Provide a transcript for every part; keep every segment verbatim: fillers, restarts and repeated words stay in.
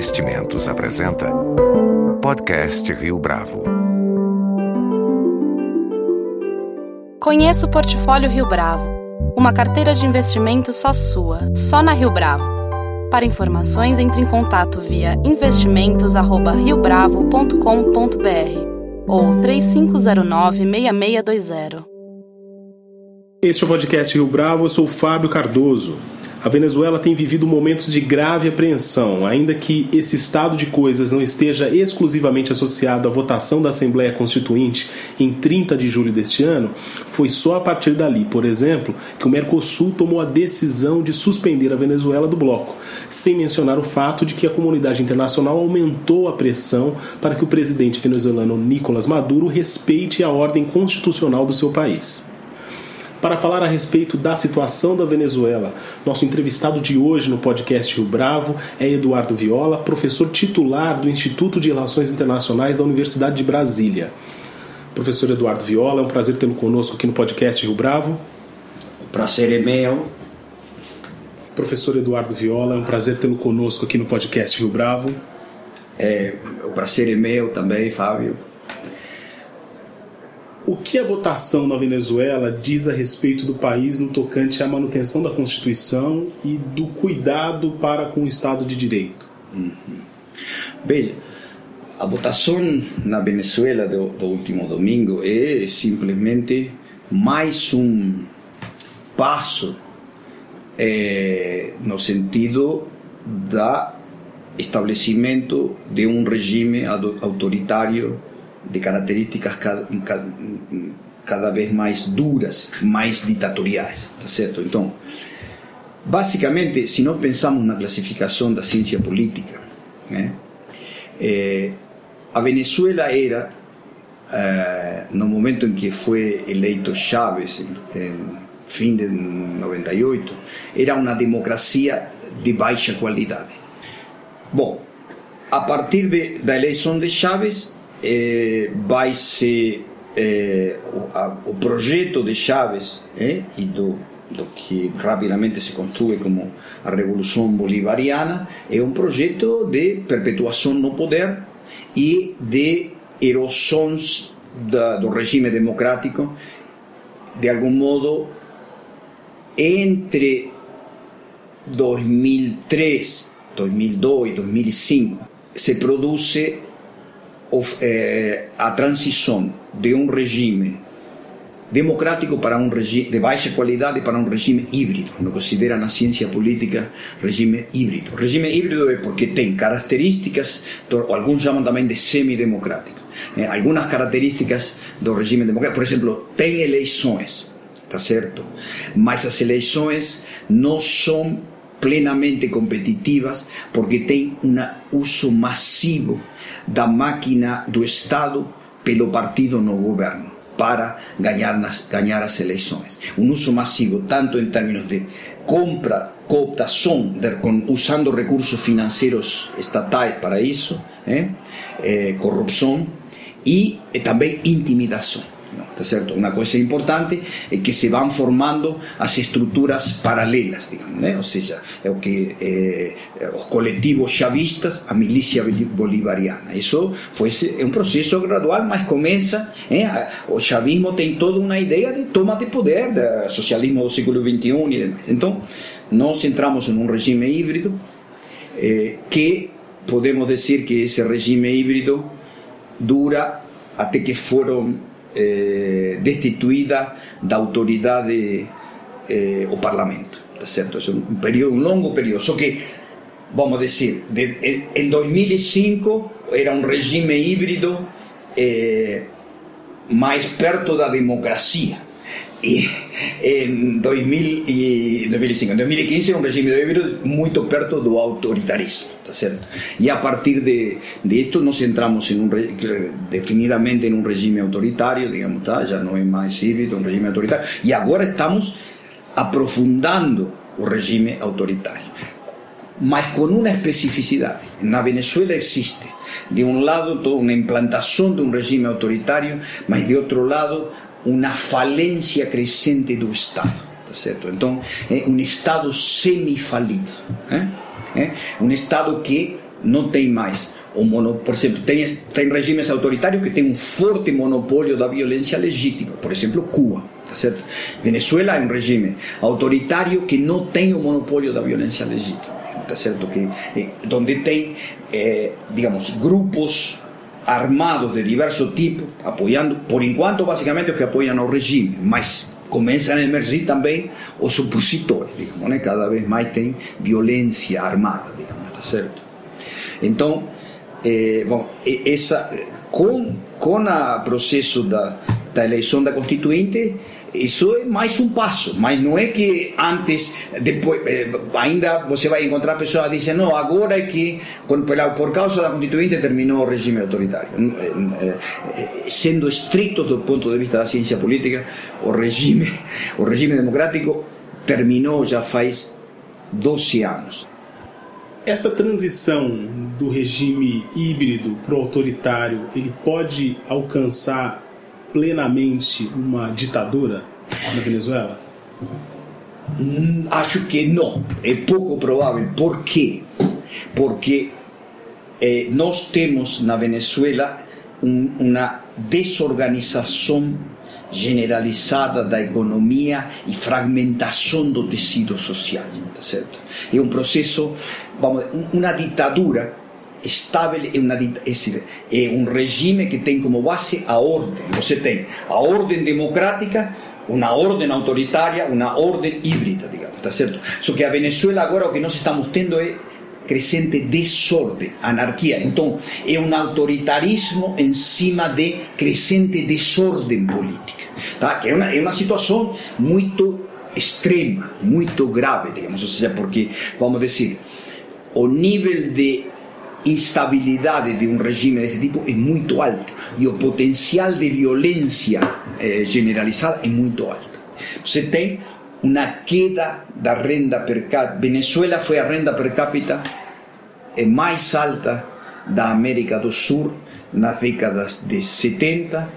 Investimentos apresenta Podcast Rio Bravo. Conheça o Portfólio Rio Bravo, uma carteira de investimento só sua, só na Rio Bravo. Para informações, entre em contato via investimentos arroba rio bravo ponto com ponto b r ou três cinco zero nove, seis seis dois zero. Este é o Podcast Rio Bravo, eu sou o Fábio Cardoso. A Venezuela tem vivido momentos de grave apreensão, ainda que esse estado de coisas não esteja exclusivamente associado à votação da Assembleia Constituinte em trinta de julho deste ano. Foi só a partir dali, por exemplo, que o Mercosul tomou a decisão de suspender a Venezuela do bloco, sem mencionar o fato de que a comunidade internacional aumentou a pressão para que o presidente venezuelano Nicolás Maduro respeite a ordem constitucional do seu país. Para falar a respeito da situação da Venezuela, nosso entrevistado de hoje no podcast Rio Bravo é Eduardo Viola, professor titular do Instituto de Relações Internacionais da Universidade de Brasília. Professor Eduardo Viola, é um prazer tê-lo conosco aqui no podcast Rio Bravo. O prazer é meu. Professor Eduardo Viola, é um prazer tê-lo conosco aqui no podcast Rio Bravo. É, o prazer é meu também, Fábio. O que a votação na Venezuela diz a respeito do país no tocante à manutenção da Constituição e do cuidado para com o Estado de Direito? Uhum. Veja, a votação na Venezuela do, do último domingo é simplesmente mais um passo é, no sentido da estabelecimento de um regime autoritário de características cada, cada, cada vez mais duras, mais ditatoriais, tá certo? Então, basicamente, se nós pensamos na classificação da ciência política, né, é, a Venezuela era, é, no momento em que foi eleito Chávez, em, em fim de noventa e oito, era uma democracia de baixa qualidade. Bom, a partir de, da eleição de Chávez, Eh, vai ser eh, o, a, o projeto de Chávez eh, e do, do que rapidamente se constrói como a Revolução Bolivariana é um projeto de perpetuação no poder e de erosões da, do regime democrático, de algum modo, entre dois mil e três, dois mil e dois, dois mil e cinco se produz a transição de um regime democrático para um regime de baixa qualidade para um regime híbrido, no que considera na ciência política regime híbrido. O regime híbrido é porque tem características, alguns chamam também de semidemocrático, eh, algumas características do regime democrático, por exemplo, tem eleições, tá certo? Mas as eleições não são plenamente competitivas porque tem um uso massivo da máquina do Estado pelo partido no governo para ganhar, nas, ganhar as eleições. Um uso massivo tanto em termos de compra, cooptação, de, com, usando recursos financeiros estatais para isso, eh, eh, corrupção e eh, também intimidação. Tá certo? Uma coisa importante é que se vão formando as estruturas paralelas, digamos, né? Ou seja, é o que eh, os coletivos chavistas, a milícia bolivariana. Isso foi é um processo gradual, mas começa, eh, o chavismo tem toda uma ideia de toma de poder, do socialismo do século vinte e um e demais. Então, nós entramos em um regime híbrido eh, que podemos dizer que esse regime híbrido dura até que foram Eh, destituída da autoridade eh, o Parlamento, tá certo? É um período, um longo período. Só que, vamos dizer, de, em dois mil e cinco era um regime híbrido eh, mais perto da democracia. E em dois mil e cinco, em dois mil e quinze era um regime híbrido muito perto do autoritarismo, tá certo? E a partir de, de esto nós entramos em um, definidamente em um regime autoritário, digamos, tá? Já não é mais híbrido, é um regime autoritário. E agora estamos aprofundando o regime autoritário, mas com uma especificidade. Na Venezuela existe, de um lado, toda uma implantação de um regime autoritário, mas de outro lado, uma falência crescente do Estado, tá certo? Então, é um Estado semifalido, é? É? Um Estado que não tem mais o monopólio. Por exemplo, tem, tem regimes autoritários que têm um forte monopólio da violência legítima, por exemplo, Cuba, tá certo? Venezuela é um regime autoritário que não tem o monopólio da violência legítima, tá certo? Que, eh, onde tem, eh, digamos, grupos armados de diverso tipo, apoiando, por enquanto, basicamente, os que apoiam o regime, mas começam a emergir também os opositores, digamos, né? Cada vez mais tem violência armada, digamos, tá certo? Então, eh, bom, essa, com, com o processo da, da eleição da Constituinte, isso é mais um passo, mas não é que antes, depois, eh, ainda você vai encontrar pessoas que dizem, não, agora é que, por, por causa da Constituinte, terminou o regime autoritário. Eh, eh, sendo estricto do ponto de vista da ciência política, o regime, o regime democrático terminou já faz doze anos. Essa transição do regime híbrido para o autoritário, ele pode alcançar plenamente uma ditadura na Venezuela? Hum, acho que não, é pouco provável. Por quê? Porque eh, nós temos na Venezuela um, uma desorganização generalizada da economia e fragmentação do tecido social, tá certo? É um processo, vamos, uma ditadura estável, é, uma, é, é um regime que tem como base a ordem. Você tem a ordem democrática, uma ordem autoritária, uma ordem híbrida, digamos, tá certo? Só que a Venezuela agora o que nós estamos tendo é crescente desordem, anarquia. Então é um autoritarismo em cima de crescente desordem política, tá? Que é uma, é uma situação muito extrema, muito grave, digamos, ou seja, porque, vamos dizer, o nível de instabilidade de um regime desse tipo é muito alto e o potencial de violência eh, generalizada é muito alto. Você tem uma queda da renda per capita. Venezuela foi a renda per capita mais alta da América do Sul nas décadas de setenta,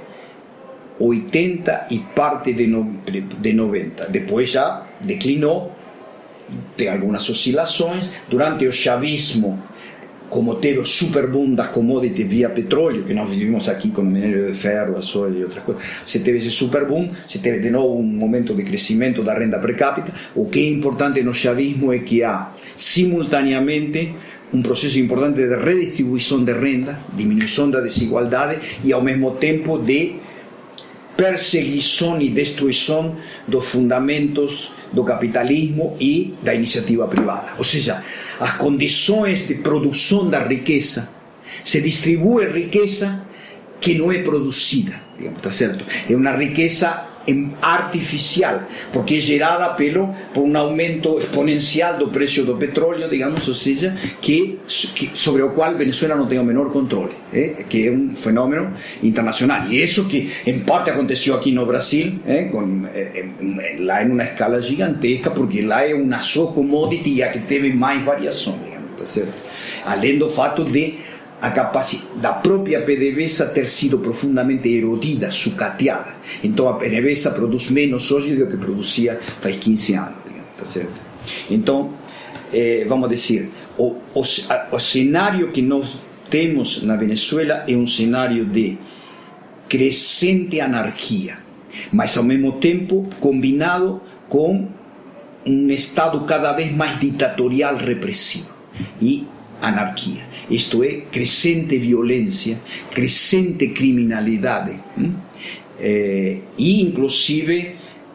oitenta e parte de, no, de noventa. Depois já declinou, tem algumas oscilações. Durante o chavismo, como teve o super boom das commodities via petróleo, que nós vivimos aqui com o minério de ferro, a soja e outras coisas, você teve esse super boom, você teve de novo um momento de crescimento da renda per capita. O que é importante no chavismo é que há, simultaneamente, um processo importante de redistribuição de renda, diminuição da desigualdade e, ao mesmo tempo, de perseguição e destruição dos fundamentos do capitalismo e da iniciativa privada. Ou seja, as condições de produção da riqueza, se distribui riqueza que não é produzida, digamos, tá certo? É uma riqueza artificial, porque é gerada pelo, por um aumento exponencial do preço do petróleo, digamos, ou seja, que, que, sobre o qual Venezuela não tem o menor controle, eh? Que é um fenômeno internacional. E isso que, em parte, aconteceu aqui no Brasil, eh? Com, eh, lá em uma escala gigantesca, porque lá é uma só commodity e a que teve mais variação, digamos, tá certo? Além do fato de a capacidade da própria PDVSA ter sido profundamente erodida, sucateada. Então a PDVSA produz menos hoje do que produzia faz quinze anos, digamos, tá certo? Então, eh, vamos dizer, o, o, a, o cenário que nós temos na Venezuela é um cenário de crescente anarquia, mas ao mesmo tempo combinado com um Estado cada vez mais ditatorial, repressivo e anarquia. Isto é, crescente violência, crescente criminalidade, eh, e inclusive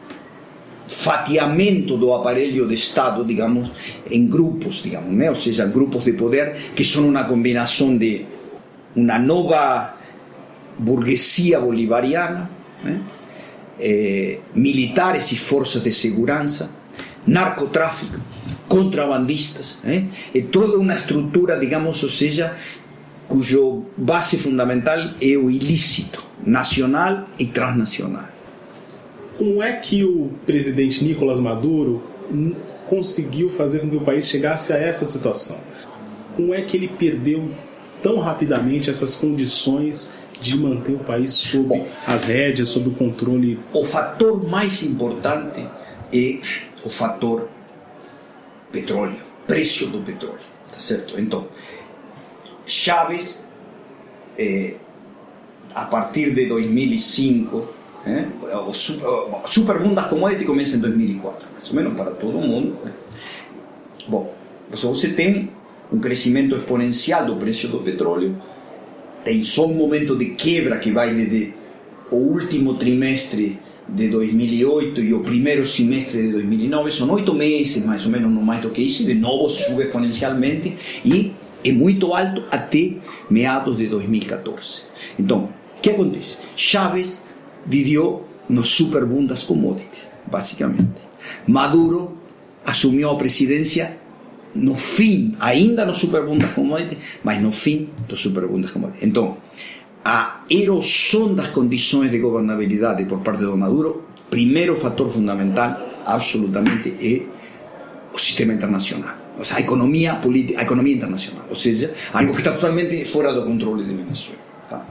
fatiamento do aparelho de Estado, digamos, em grupos, digamos, né? Ou seja, grupos de poder que são uma combinação de uma nova burguesia bolivariana, né? eh, militares e forças de segurança, narcotráfico, contrabandistas, eh? É toda uma estrutura, digamos, ou seja, cujo base fundamental é o ilícito nacional e transnacional. Como é que o presidente Nicolás Maduro conseguiu fazer com que o país chegasse a essa situação? Como é que ele perdeu tão rapidamente essas condições de manter o país sob Bom, as rédeas, sob o controle? O fator mais importante é o fator petróleo, preço do petróleo, tá certo? Então, Chávez, eh, a partir de dois mil e cinco, eh, o super, o super boom das commodities começa em dois mil e quatro, mais ou menos para todo mundo. Eh. Bom, você tem um crescimento exponencial do preço do petróleo, tem só um momento de quebra que vai desde o último trimestre de dois mil e oito e o primeiro semestre de dois mil e nove, são oito meses mais ou menos, não mais do que isso, de novo sube exponencialmente e é muito alto até meados de dois mil e catorze. Então, o que acontece? Chávez viveu no super boom das commodities, basicamente. Maduro assumiu a presidência no fim, ainda no super boom das commodities, mas no fim do super boom das commodities. Então, a erosão das condições de governabilidade por parte do Maduro, primeiro fator fundamental, absolutamente, é o sistema internacional. O sea, a economia política, a economia internacional. Ou seja, algo que está totalmente fora do controle de Venezuela. Tá?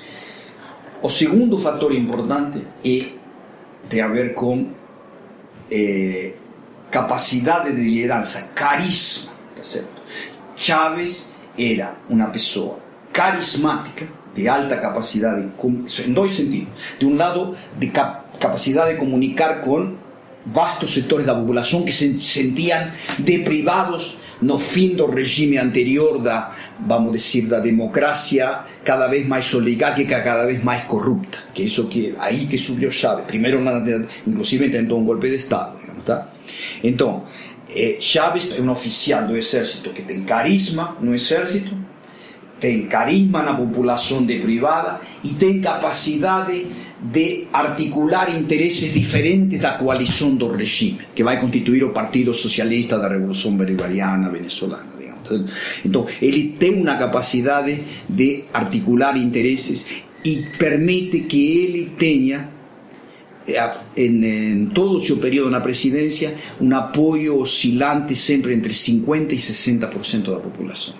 O segundo fator importante é, tem a ver com eh, capacidade de liderança, carisma. Tá certo? Chávez era uma pessoa carismática, de alta capacidade, em dois sentidos. De um lado, de cap- capacidade de comunicar com vastos setores da população que se sentiam deprivados no fim do regime anterior da, vamos dizer, da democracia cada vez mais oligárquica, cada vez mais corrupta, que isso que aí que subiu Chávez, primeiro inclusive tentou um golpe de Estado, digamos, tá? Então, eh, Chávez é um oficial do exército que tem carisma no exército, tem carisma na população deprivada e tem capacidade de articular interesses diferentes da coalição do regime, que vai constituir o Partido Socialista da Revolução Bolivariana Venezolana, digamos. Então, ele tem uma capacidade de articular interesses e permite que ele tenha, em, em todo o seu período na presidência, um apoio oscilante sempre entre cinquenta e sessenta por cento da população.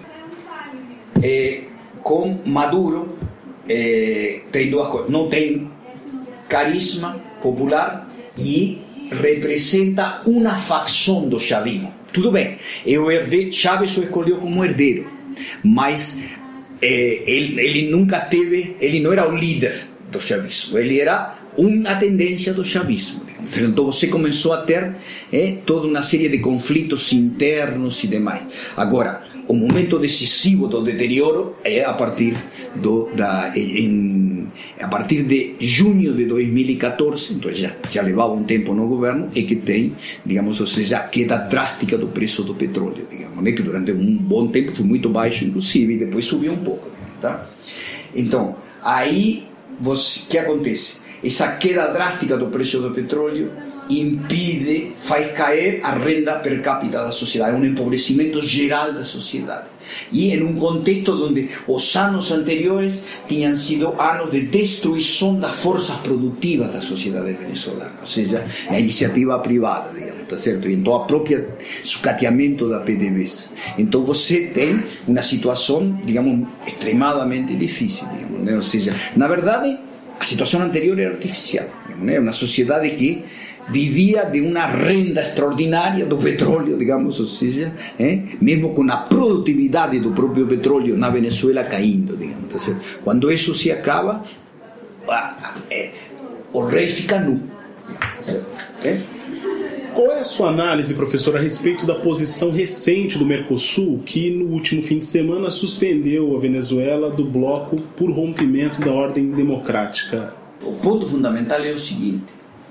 Eh, com Maduro, eh, tem duas coisas. Não tem carisma popular e representa uma facção do chavismo. Tudo bem, eu herdei, Chávez o escolheu como herdeiro, mas eh, ele, ele nunca teve, ele não era o líder do chavismo, ele era uma tendência do chavismo. Então você começou a ter eh, toda uma série de conflitos internos e demais. Agora, o momento decisivo do deterioro é a partir do da em, a partir de junho de dois mil e catorze, então já já levava um tempo no governo, e que tem, digamos, ou seja, a queda drástica do preço do petróleo, digamos, né, que durante um bom tempo foi muito baixo, inclusive, e depois subiu um pouco, tá? Então, aí o que acontece? Essa queda drástica do preço do petróleo impide, faz cair a renda per capita da sociedade, é um empobrecimento geral da sociedade. E em um contexto onde os anos anteriores tinham sido anos de destruição das forças produtivas da sociedade venezolana, ou seja, a iniciativa privada, digamos, tá certo? E então a própria sucateamento da P D V S. Então você tem uma situação, digamos, extremadamente difícil, digamos, né? Ou seja, na verdade, a situação anterior era artificial, digamos, né? Uma sociedade que vivia de uma renda extraordinária do petróleo, digamos, ou seja, eh, mesmo com a produtividade do próprio petróleo na Venezuela caindo, digamos, tá certo? Quando isso se acaba, ah, eh, o rei fica nu, tá certo? Eh? Qual é a sua análise, professor, a respeito da posição recente do Mercosul, que no último fim de semana suspendeu a Venezuela do bloco por rompimento da ordem democrática? O ponto fundamental é o seguinte: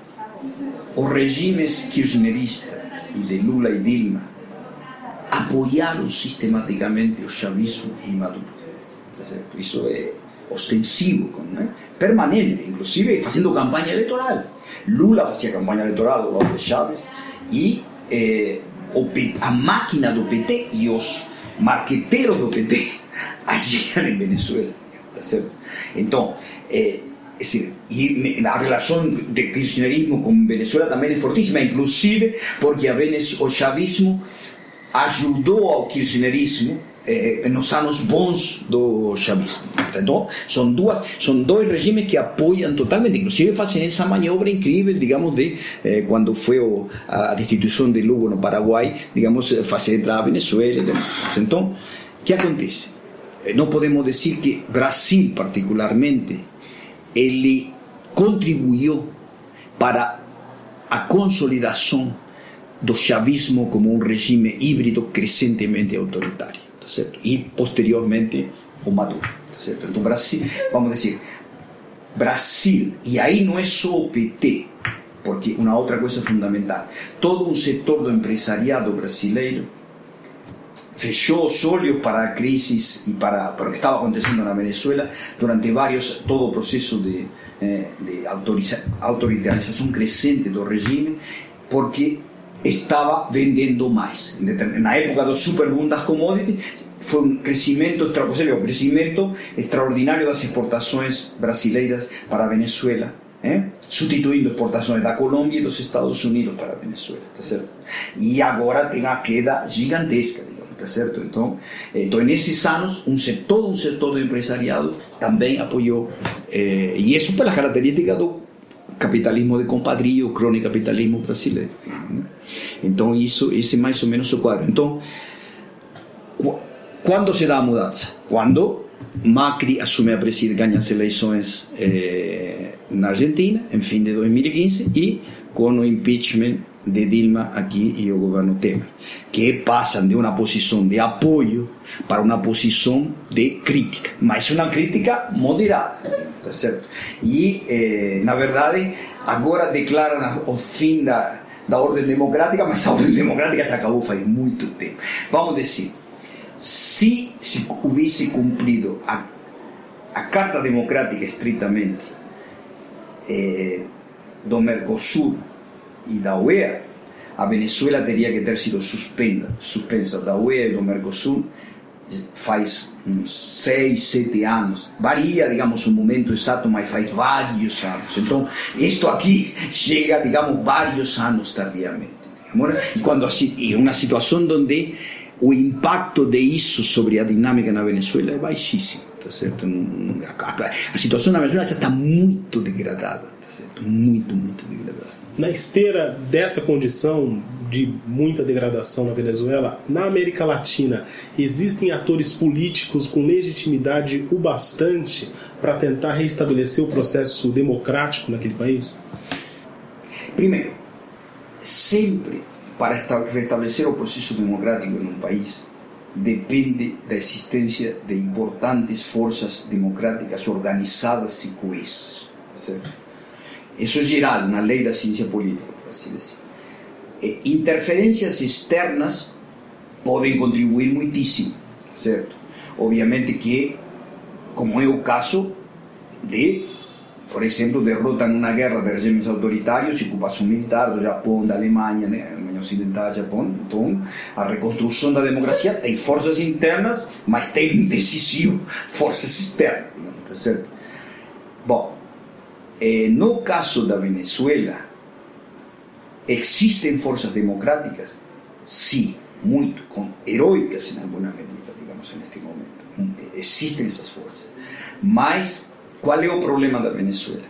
os regimes kirchnerista e de Lula e Dilma apoiaram sistematicamente o chavismo e Maduro. Tá certo? Isso é ostensivo, né? Permanente, inclusive fazendo campanha eleitoral. Lula fazia campanha eleitoral ao lado de Chávez e eh, o P T, a máquina do P T e os marqueteiros do P T agiam em Venezuela. Tá certo? Então, eh, es decir, y a relación de kirchnerismo con Venezuela también es fortísima, inclusive porque a Venezuela, o chavismo ajudou ao kirchnerismo eh, nos anos bons do chavismo. Então, são duas, são dois regimes que apoiam totalmente, inclusive fazem essa maniobra incrível, digamos, de eh, quando foi o, a destituição de Lugo no Paraguai, digamos, fazer entrar a Venezuela. Então, o que acontece? não podemos dizer que Brasil, particularmente, ele contribuiu para a consolidação do chavismo como um regime híbrido crescentemente autoritário, tá certo? E posteriormente o Maduro, tá certo? Então Brasil, vamos dizer, Brasil, e aí não é só o P T, porque uma outra coisa fundamental, todo um setor do empresariado brasileiro fechou os olhos para a crise e para, para o que estava acontecendo na Venezuela durante vários, todo o processo de, de autoriza, autoritarização crescente do regime, porque estava vendendo mais. Na época dos superboom das commodities, foi um crescimento, um crescimento extraordinário das exportações brasileiras para a Venezuela, eh? substituindo exportações da Colômbia e dos Estados Unidos para a Venezuela, tá certo? E agora tem a queda gigantesca, digamos, tá certo? Então, então nesses anos, um setor, todo um setor do empresariado também apoiou, eh, e isso pelas características do capitalismo de compadrio, o crônico-capitalismo brasileiro. Né? Então, isso, esse é mais ou menos o quadro. Então, quando se dá a mudança? Quando Macri assume a presidência, ganha as eleições eh, na Argentina, em fim de dois mil e quinze, e com o impeachment de Dilma aqui e o governo Temer, que passam de uma posição de apoio para uma posição de crítica, mas uma crítica moderada, tá certo? E, eh, na verdade, agora declaram o fim da, da ordem democrática, mas a ordem democrática já acabou faz muito tempo. Vamos dizer, se se houvesse cumprido a, a Carta Democrática estritamente eh, do Mercosul e da U E A, a Venezuela teria que ter sido suspensa, suspensa da U E A e do Mercosul faz uns seis, sete anos. Varia, digamos, o momento exato, mas faz vários anos. Então, isto aqui chega, digamos, vários anos tardiamente. Digamos, e quando é uma situação onde o impacto de isso sobre a dinâmica na Venezuela é baixíssimo, tá certo? A situação na Venezuela já está muito degradada, tá certo? Muito, muito degradada. Na esteira dessa condição de muita degradação na Venezuela, na América Latina, existem atores políticos com legitimidade o bastante para tentar reestabelecer o processo democrático naquele país? Primeiro, sempre para restabelecer o processo democrático em um país, depende da existência de importantes forças democráticas organizadas e coesas, tá certo? Isso é geral na lei da ciência política, por assim dizer. E interferências externas podem contribuir muitíssimo, certo? Obviamente que, como é o caso de, por exemplo, derrota numa guerra de regimes autoritários e ocupação militar do Japão, da Alemanha, né? Alemanha Ocidental, Japão. Então, a reconstrução da democracia tem forças internas, mas tem decisivo forças externas, digamos, tá certo? Bom, eh, no caso da Venezuela, existem forças democráticas? Sim, muito, com, heroicas em alguma medida, digamos, neste momento. Existem essas forças. Mas qual é o problema da Venezuela?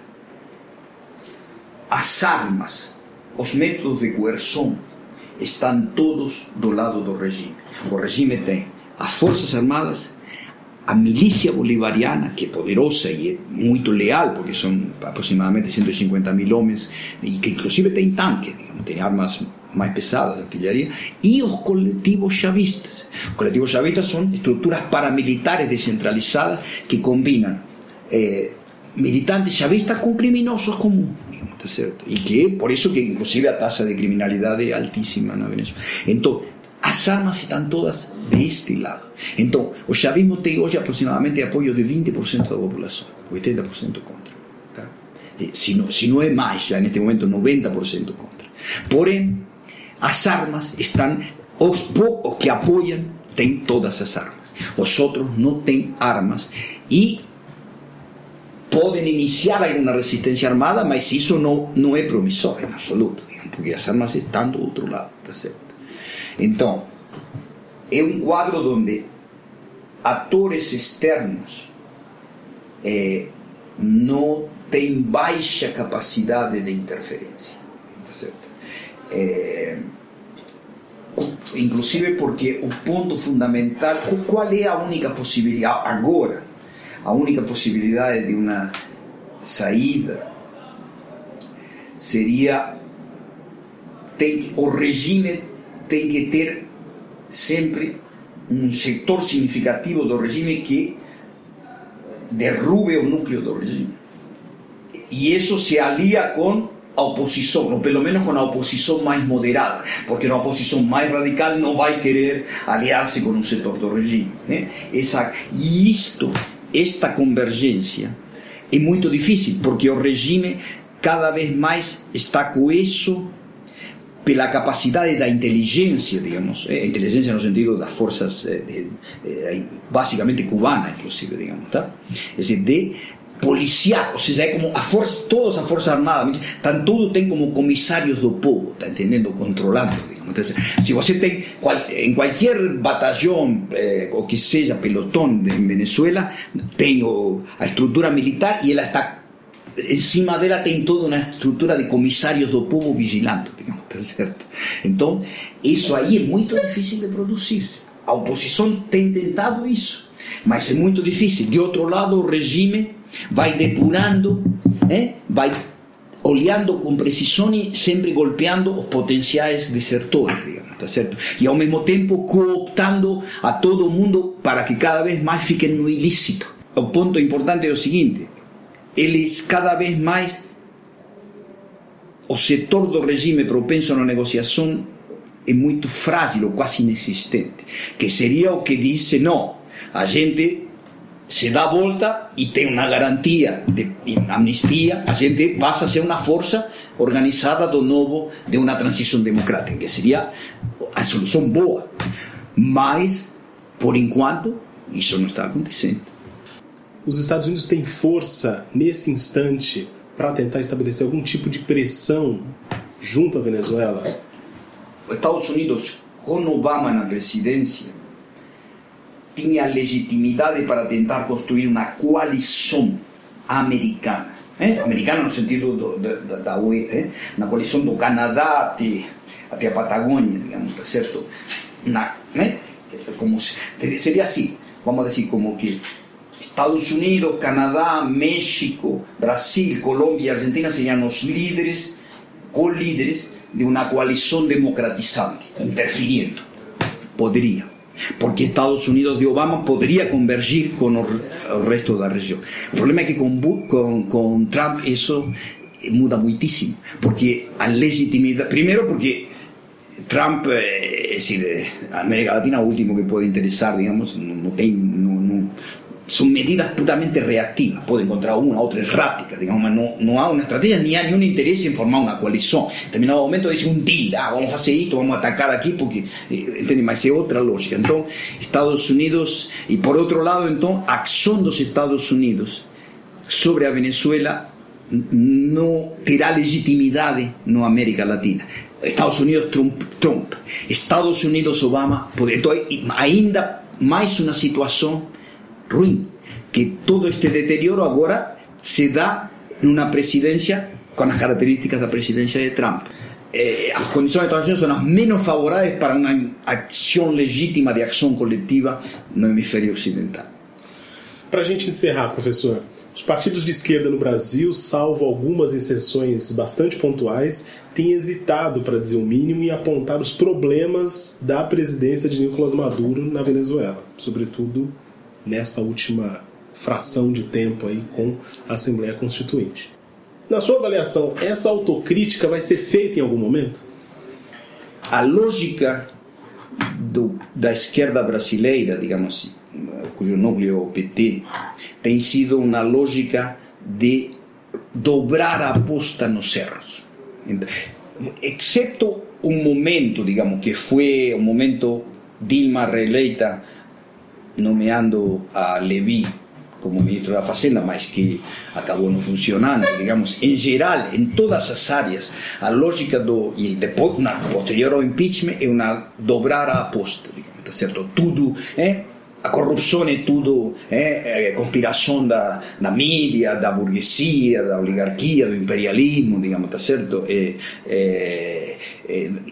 As armas, os métodos de coerção estão todos do lado do regime. O regime tem as forças armadas, a milícia bolivariana, que é poderosa e é muito leal, porque são aproximadamente cento e cinquenta mil homens, e que inclusive tem tanques, digamos, tem armas mais pesadas, artilharia, e os coletivos chavistas. Os coletivos chavistas são estruturas paramilitares descentralizadas que combinam eh, militantes chavistas com criminosos comuns, digamos, tá certo? E que por isso que inclusive a taxa de criminalidade é altíssima na Venezuela. Então, as armas estão todas deste lado. Então, o chavismo tem hoje aproximadamente apoio de vinte por cento da população, oitenta por cento contra. Tá? Se, não, se não é mais, já neste momento noventa por cento contra. Porém, as armas estão, os poucos que apoiam têm todas as armas. Os outros não têm armas e podem iniciar alguma resistência armada, mas isso não, não é promissor em absoluto, digamos, porque as armas estão do outro lado, tá certo? Então, é um quadro onde atores externos eh, não têm baixa capacidade de interferência, tá certo? Eh, inclusive porque o ponto fundamental, qual é a única possibilidade agora, a única possibilidade de uma saída seria, tem, o regime tem que ter sempre um setor significativo do regime que derrube o núcleo do regime. E isso se alia com a oposição, ou pelo menos com a oposição mais moderada, porque a oposição mais radical não vai querer aliar-se com um setor do regime, né? Essa, e isto, esta convergência é muito difícil, porque o regime cada vez mais está coeso pela capacidade da inteligência, digamos, a inteligência no sentido das forças de, de, de, basicamente cubana, inclusive, digamos, tá? É dizer, de policial, ou seja, é como a força, todas as forças armadas, tan, tudo tem como comissários do povo, tá entendendo? Controlando, digamos. Então, se você tem, em qualquer batalhão, eh, ou que seja, pelotão de, em Venezuela, tem o, a estrutura militar e ela está, em cima dela tem toda uma estrutura de comissários do povo vigilando, digamos, tá certo? Então, isso aí é muito difícil de produzir-se. A oposição tem tentado isso, mas é muito difícil. De outro lado, o regime vai depurando, eh? vai olhando com precisão e sempre golpeando os potenciais desertores, digamos, tá certo? E ao mesmo tempo cooptando a todo mundo para que cada vez mais fiquem no ilícito. O ponto importante é o seguinte: eles cada vez mais, o setor do regime propenso na negociação é muito frágil ou quase inexistente, que seria o que diz: não, a gente se dá a volta e tem uma garantia de amnistia, a gente passa a ser uma força organizada do novo, de uma transição democrática, que seria a solução boa. Mas, por enquanto, isso não está acontecendo. Os Estados Unidos têm força, nesse instante, para tentar estabelecer algum tipo de pressão junto à Venezuela? Os Estados Unidos, com Obama na presidência, tinha legitimidade para tentar construir uma coalição americana, eh? americana no sentido do, da, da U E, eh? uma coalição do Canadá até, até a Patagônia, digamos, tá certo? Na, eh? como se, seria assim, vamos dizer, como que Estados Unidos, Canadá, México, Brasil, Colômbia e Argentina seriam os líderes, co-líderes de uma coalição democratizante, interferindo. Poderia. Porque Estados Unidos de Obama poderia convergir com o, o resto da região. O problema é que com, com, com Trump isso muda muitíssimo, porque a legitimidade, primeiro porque Trump, é, é, a América Latina é o último que pode interessar, digamos, não, não tem, não, não, são medidas puramente reativas, pode encontrar uma, outra errática, digamos, mas não, não há uma estratégia, nem há nenhum interesse em formar uma coalição. Em determinado momento diz um deal, ah, vamos fazer isto, vamos atacar aqui, porque, entende, mas é outra lógica. Então, Estados Unidos, e por outro lado, então, a ação dos Estados Unidos sobre a Venezuela não terá legitimidade na América Latina. Estados Unidos Trump, Trump. Estados Unidos Obama, então, ainda mais uma situação ruim, que todo este deterioro agora se dá numa presidência com as características da presidência de Trump. Eh, as condições de Estados Unidos são as menos favoráveis para uma ação legítima de ação coletiva no hemisfério ocidental. Para a gente encerrar, professor, os partidos de esquerda no Brasil, salvo algumas exceções bastante pontuais, têm hesitado, para dizer o mínimo, em apontar os problemas da presidência de Nicolás Maduro na Venezuela, sobretudo nessa última fração de tempo aí com a Assembleia Constituinte. Na sua avaliação, essa autocrítica vai ser feita em algum momento? A lógica do, da esquerda brasileira, digamos assim, cujo núcleo é o P T, tem sido uma lógica de dobrar a aposta nos erros. Então, exceto um momento, digamos, que foi um momento Dilma reeleita nomeando a Levy como ministro da Fazenda, mas que acabou não funcionando, digamos, em geral, em todas as áreas, a lógica do, e depois, na, posterior ao impeachment, é uma dobrar a aposta, digamos, tá certo? Tudo, é, a corrupção é tudo, é, é conspiração da, da mídia, da burguesia, da oligarquia, do imperialismo, digamos, tá certo? É, é, é,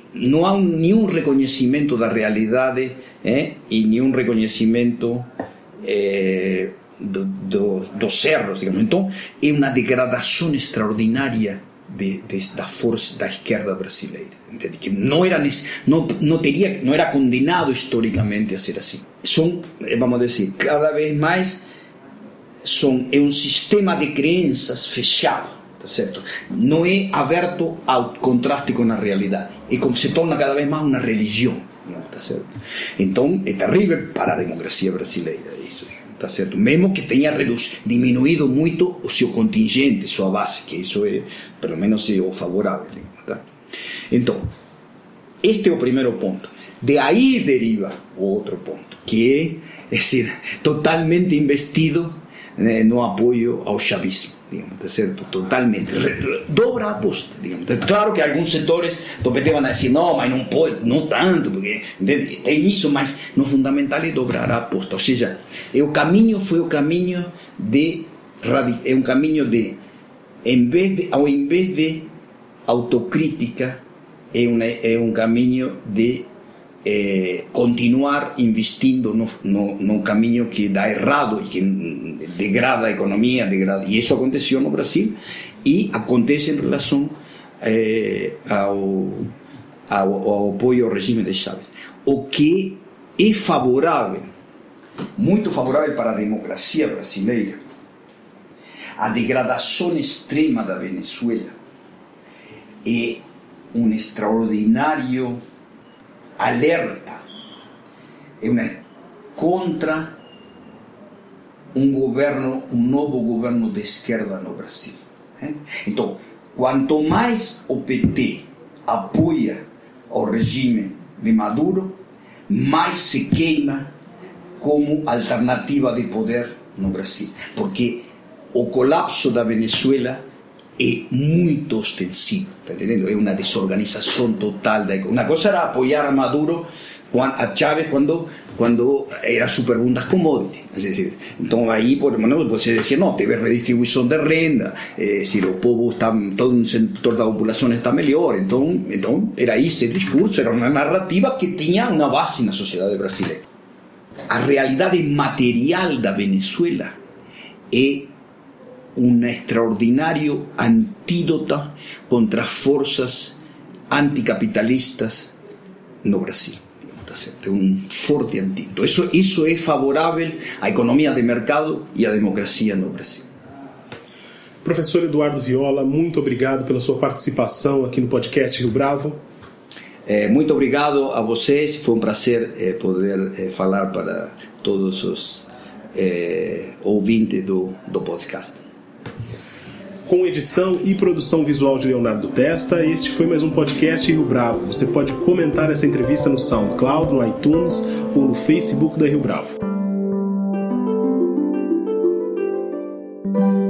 não há nenhum reconhecimento da realidade eh, e nenhum reconhecimento eh, do, do, dos erros, digamos. Então é uma degradação extraordinária de, de, da força da esquerda brasileira, entende? Que não era não, não teria não era condenado historicamente a ser assim. São, vamos dizer, cada vez mais são é um sistema de crenças fechado, tá certo? Não é aberto ao contraste com a realidade. É como se torna cada vez mais uma religião, digamos, tá certo? Então é terrível para a democracia brasileira isso, tá certo? Mesmo que tenha reduzido, diminuído muito o seu contingente, sua base, que isso é, pelo menos, é o favorável, tá? Então, este é o primeiro ponto. De aí deriva o outro ponto, que é, é dizer, totalmente investido eh, no apoio ao chavismo, digamos, tá certo? Totalmente dobra a aposta, digamos. Claro que alguns setores do P T vão dizer não, mas não pode, não tanto, porque tem isso, mas no fundamental é dobrar a aposta. Ou seja, é o caminho foi o caminho de é um caminho de em vez de ao invés de autocrítica é um é um caminho de Eh, continuar investindo no, no, no caminho que dá errado e que degrada a economia, degrada, e isso aconteceu no Brasil e acontece em relação eh, ao, ao, ao apoio ao regime de Chávez, o que é favorável, muito favorável para a democracia brasileira. A degradação extrema da Venezuela é um extraordinário alerta, é uma contra um governo, um novo governo de esquerda no Brasil. Então, quanto mais o P T apoia o regime de Maduro, mais se queima como alternativa de poder no Brasil, porque o colapso da Venezuela é muito ostensivo, tá entendendo? É uma desorganização total da economia. Uma coisa era apoiar a Maduro, a Chávez, quando, quando era superboom das commodities. É dizer, então aí, por exemplo, você dizia, não, teve redistribuição de renda, é dizer, o povo está, todo um setor da população está melhor. Então, então era esse discurso, era uma narrativa que tinha uma base na sociedade brasileira. A realidade material da Venezuela é um extraordinário antídoto contra as forças anticapitalistas no Brasil. É um forte antídoto. Isso, isso é favorável à economia de mercado e à democracia no Brasil. Professor Eduardo Viola, muito obrigado pela sua participação aqui no podcast Rio Bravo. É, muito obrigado a vocês. Foi um prazer é, poder é, falar para todos os é, ouvintes do, do podcast. Com edição e produção visual de Leonardo Testa, este foi mais um podcast Rio Bravo. Você pode comentar essa entrevista no SoundCloud, no iTunes ou no Facebook da Rio Bravo.